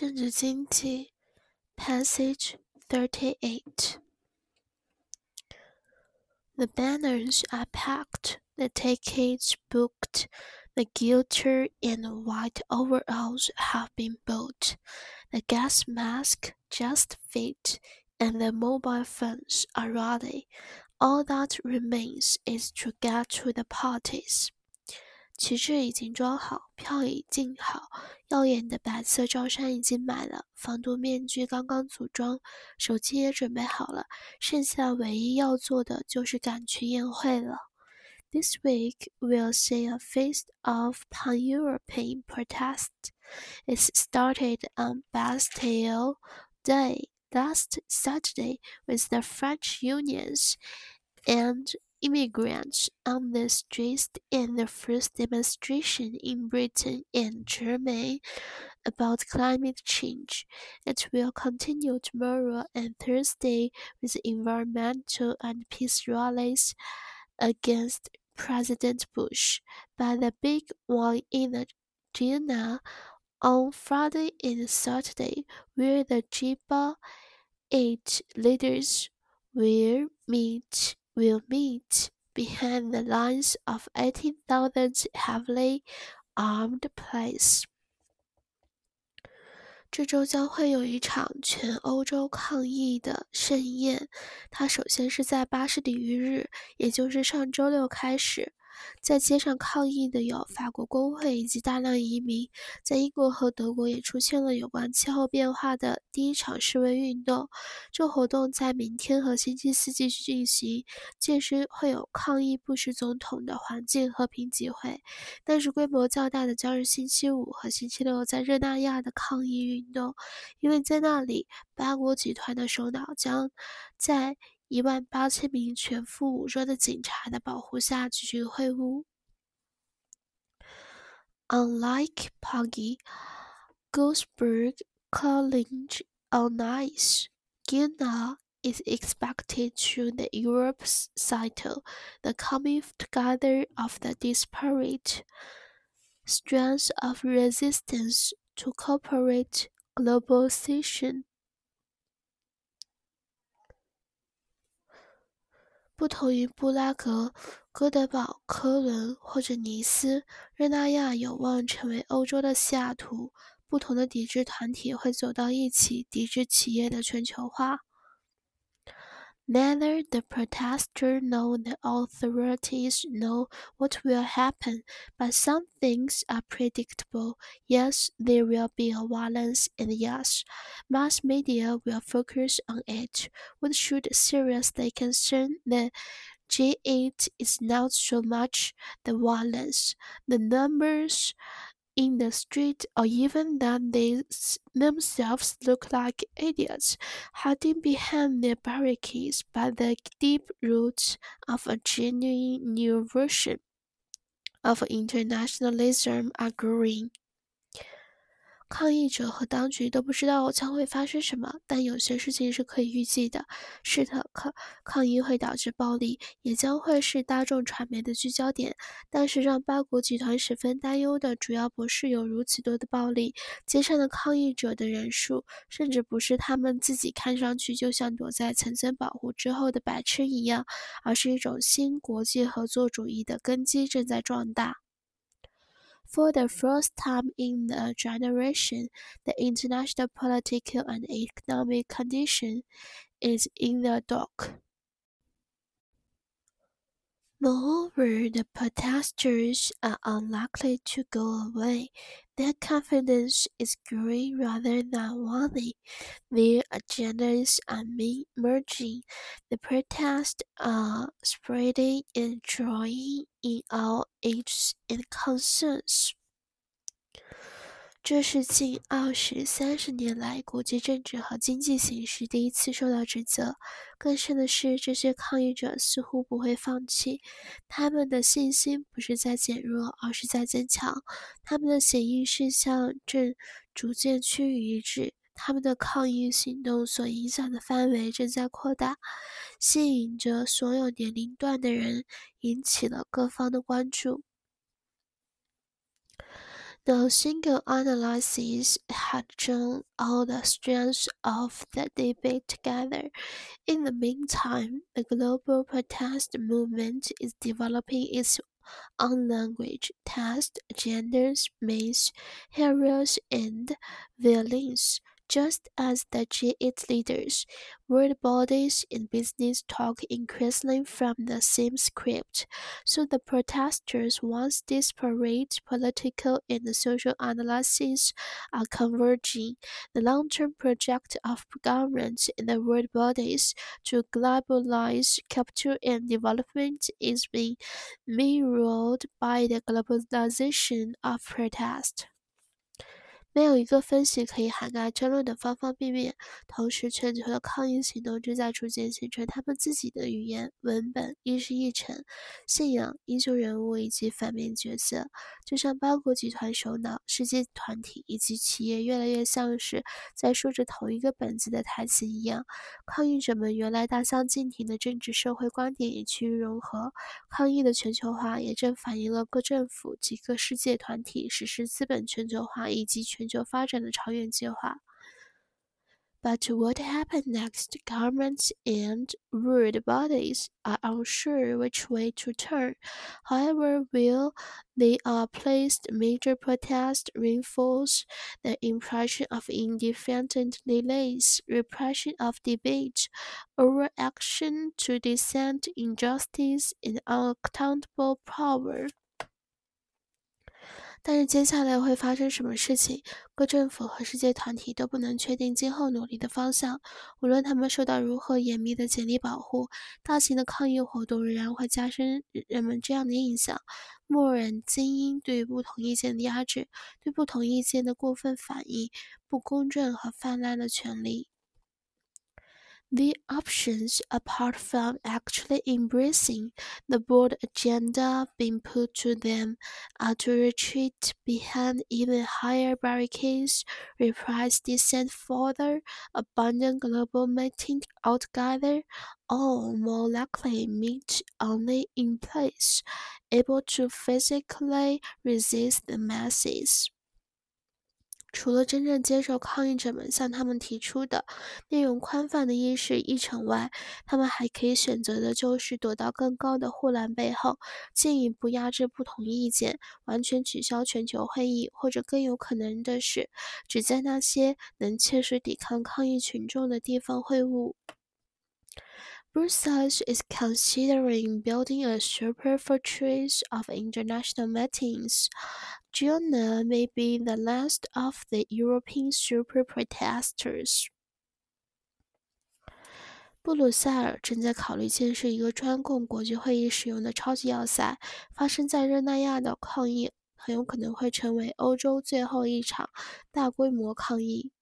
政治经济 Passage 38 The banners are packed, the tickets booked, the guitar and white overalls have been bought, the gas mask just fit, and the mobile phones are ready. All that remains is to get to the parties. 旗帜已经装好，票已订好，耀眼的白色罩衫已经买了，防毒面具刚刚组装，手机也准备好了，剩下唯一要做的就是赶去宴会了。This week we'll see a feast of pan-European protest. It started on Bastille Day last Saturday with the French unions and immigrants on the streets in the first demonstration in Britain and Germany about climate change. It will continue tomorrow and Thursday with environmental and peace rallies against President Bush. But the big one in Argentina on Friday and Saturday, where the G8 leaders will meet behind the lines of 18,000 heavily armed police. 这周将会有一场全欧洲抗议的盛宴，它首先是在巴士底狱日，也就是上周六开始。在街上抗议的有法国工会以及大量移民，在英国和德国也出现了有关气候变化的第一场示威运动。这活动在明天和星期四继续进行，届时会有抗议布什总统的环境和平集会，但是规模较大的将是星期五和星期六在热那亚的抗议运动，因为在那里八国集团的首脑将在18000名全副武装的警察的保护下举行会晤。Unlike Poggi, Goldsberg College on Ice, Ghana is expected to the Europe's title, the coming together of the disparate strands of resistance to corporate globalization. 不同于布拉格、哥德堡、科伦或者尼斯，热那亚有望成为欧洲的西雅图。不同的抵制团体会走到一起，抵制企业的全球化。Neither the protesters nor the authorities know what will happen, but some things are predictable. Yes, there will be a violence, and yes, mass media will focus on it. What should seriously concern the G8 is not so much the violence, the numbers in the street, or even that they themselves look like idiots hiding behind their barricades, but the deep roots of a genuine new version of internationalism are growing. 抗议者和当局都不知道将会发生什么，但有些事情是可以预计的。是的，抗议会导致暴力，也将会是大众传媒的聚焦点。但是让八国集团十分担忧的主要不是有如此多的暴力，街上的抗议者的人数，甚至不是他们自己看上去就像躲在层层保护之后的白痴一样，而是一种新国际合作主义的根基正在壮大。For the first time in a generation, the international political and economic condition is in the dock. Moreover, the protesters are unlikely to go away. Their confidence is growing rather than waning. Their agendas are merging. The protests are spreading and drawing in all ages and concerns. 这是近30年来国际政治和经济形势第一次受到指责。更甚的是，这些抗议者似乎不会放弃，他们的信心不是在减弱，而是在增强。他们的协议事项正逐渐趋于一致，他们的抗议行动所影响的范围正在扩大，吸引着所有年龄段的人，引起了各方的关注。 No single analysis had drawn all the strands of the debate together. In the meantime, the global protest movement is developing its own language, text, genders, myths, heroes, and villains. Just as the G8 leaders, world bodies and business talk increasingly from the same script, so the protesters' once disparate political and social analyses are converging. The long-term project of governments and the world bodies to globalize capital and development is being mirrored by the globalization of protest. 没有一个分析可以涵盖争论的方方面面，同时全球的抗议行动正在逐渐形成他们自己的语言、文本、议事议程、信仰、英雄人物以及反面角色。就像八国集团首脑、世界团体以及企业越来越像是在说着同一个本子的台词一样，抗议者们原来大相径庭的政治社会观点也趋于融合。抗议的全球化也正反映了各政府及各世界团体实施资本全球化以及全球发展的长远计划。But what happened next? Governments and world bodies are unsure which way to turn. However, will they placed major protests reinforce the impression of independent delays, repression of debate, overaction to dissent, injustice, and unaccountable power? 但是接下来会发生什么事情，各政府和世界团体都不能确定今后努力的方向。无论他们受到如何严密的检力保护，大型的抗议活动仍然会加深人们这样的印象：默认精英对不同意见的压制，对不同意见的过分反应，不公正和泛滥的权利。The options, apart from actually embracing the bold agenda being put to them, are to retreat behind even higher barricades, repress dissent further, abandon global meeting altogether, or more likely meet only in place, able to physically resist the masses. 除了真正接受抗议者们向他们提出的内容宽泛的议事议程外，他们还可以选择的就是躲到更高的护栏背后，进一步压制不同意见，完全取消全球会议，或者更有可能的是，只在那些能切实抵抗抗议群众的地方会晤。Brussels is considering building a super fortress of international meetings. Vienna may be the last of the European super protesters. 布鲁塞尔正在考虑建设一个专供国际会议使用的超级要塞。发生在热那亚的抗议很有可能会成为欧洲最后一场大规模抗议。